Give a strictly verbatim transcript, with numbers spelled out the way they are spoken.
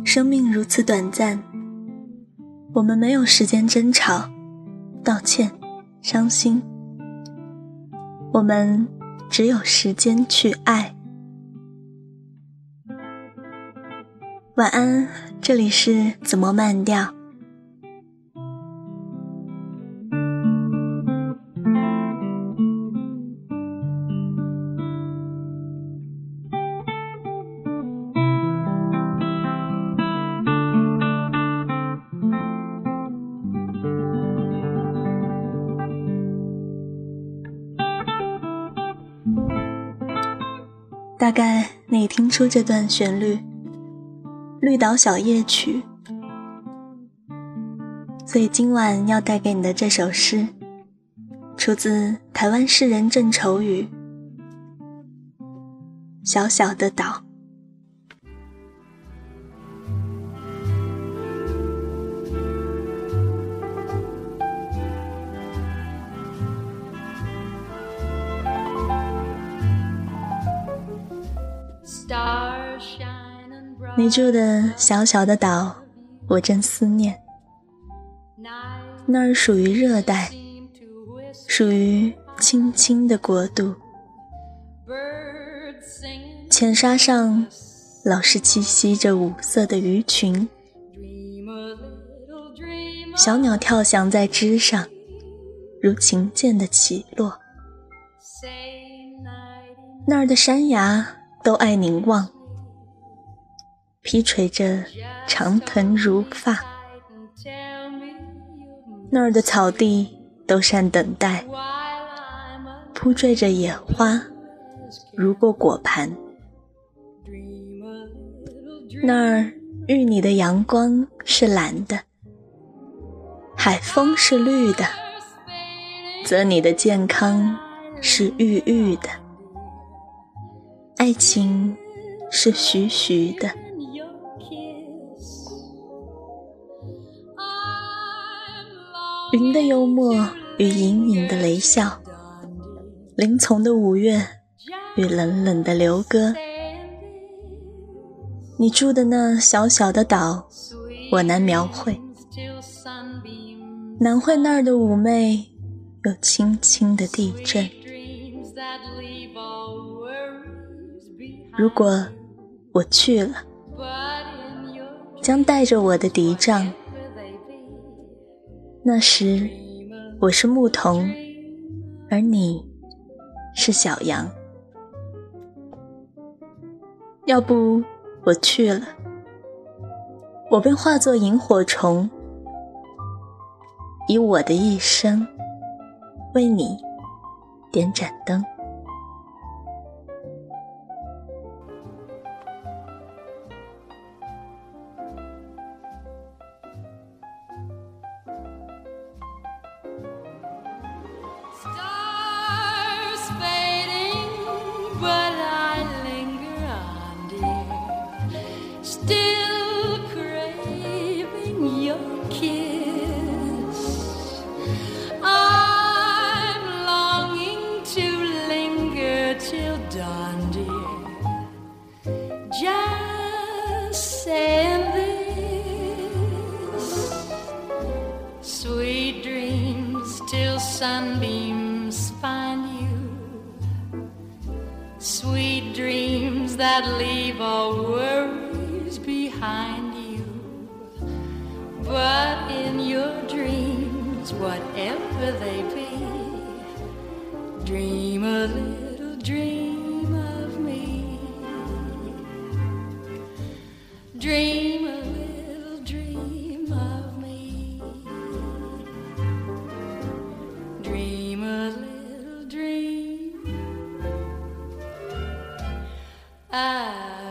生命如此短暂，我们没有时间争吵、道歉、伤心，我们只有时间去爱。晚安，这里是怎么慢调。大概你听出这段旋律，绿岛小夜曲，所以今晚要带给你的这首诗出自台湾诗人郑愁予。小小的岛。你住的小小的岛，我正思念。那儿属于热带，属于青青的国度。浅沙上老是栖息着五色的鱼群，小鸟跳翔在枝上，如琴键的起落。那儿的山崖都爱凝望，披垂着长藤如发。那儿的草地都善等待，铺缀着野花，如过果盘。那儿遇你的阳光是蓝的，海风是绿的，则你的健康是郁郁的，爱情是徐徐的。云的幽默与隐隐的雷笑，林丛的五月与冷冷的流歌。你住的那小小的岛，我难描绘，难绘那儿的妩媚有轻轻的地震。如果我去了，将带着我的笛杖，那时我是牧童，而你是小羊。要不我去了，我便化作萤火虫，以我的一生为你点盏灯。 Sunbeams find you, sweet dreams that leave all worries behind you. But in your dreams, whatever they be, dream a little dream of me. Dream a little dream of me. Dream a little dream. I